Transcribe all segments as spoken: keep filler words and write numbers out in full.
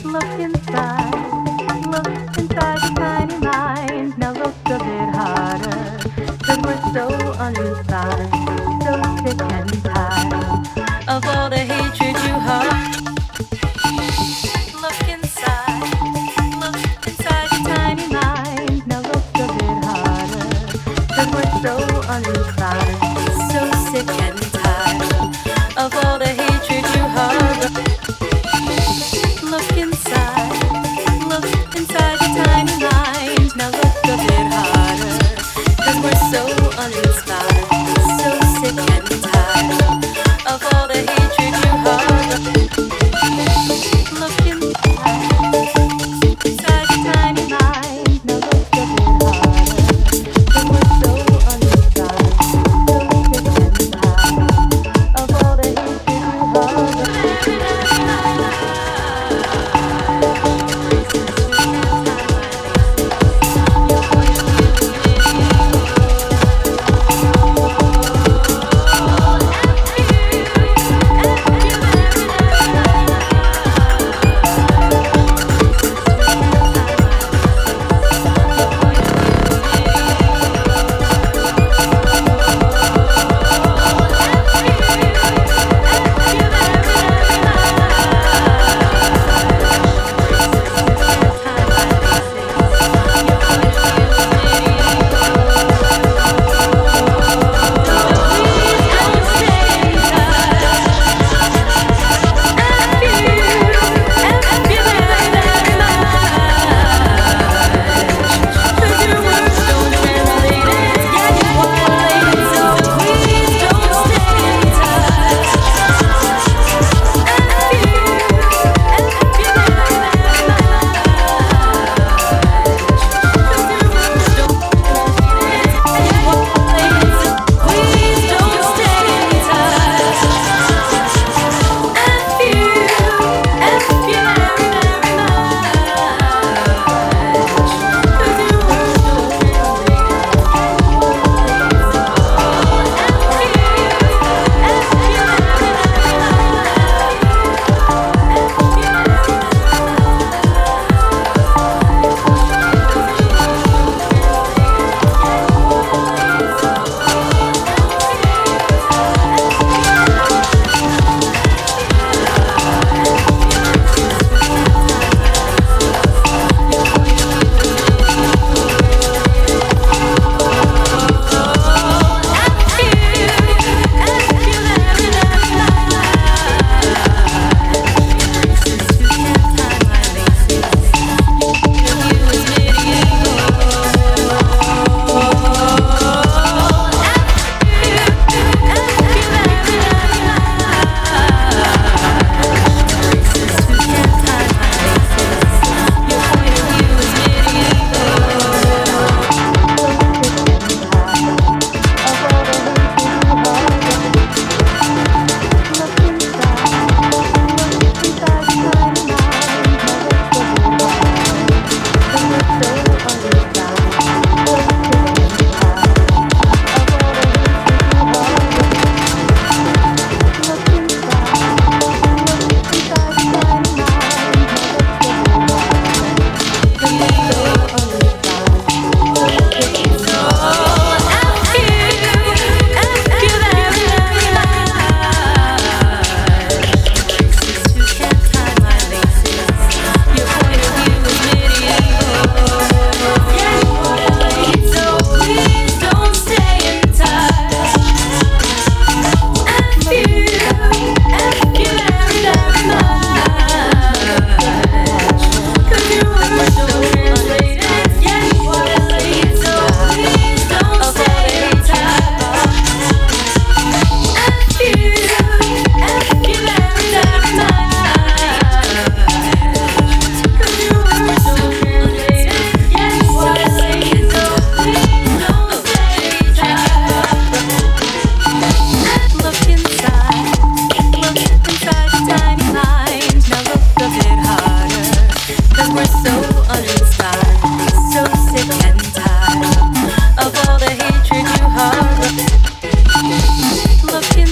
Look inside, look inside the tiny mind. Now look a bit harder, cause we're so uninspired, so sick and tired of all the hatred you harbor. Look inside, look inside the tiny mind. Now look a bit harder, cause we're so uninspired, so sick and tired of all the hatred you harbor. Look inside, look inside the tiny mind. Now look a bit harder, cause we're so uninspired, so sick and tired of all the hatred you harbor. Look inside, inside the tiny mind. Now look a bit harder, cause we're so uninspired, so sick and tired of all the hatred you harbor.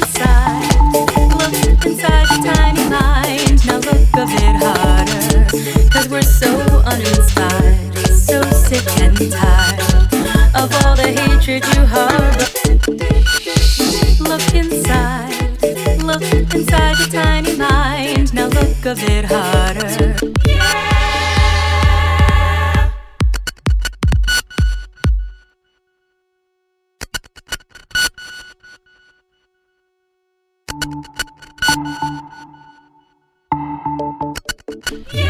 Inside your tiny mind, now look a bit harder. 'cause we're so uninspired, so sick and tired of all the hatred you harbor. Look inside, look inside your tiny mind. Now look a bit harder. Yeah.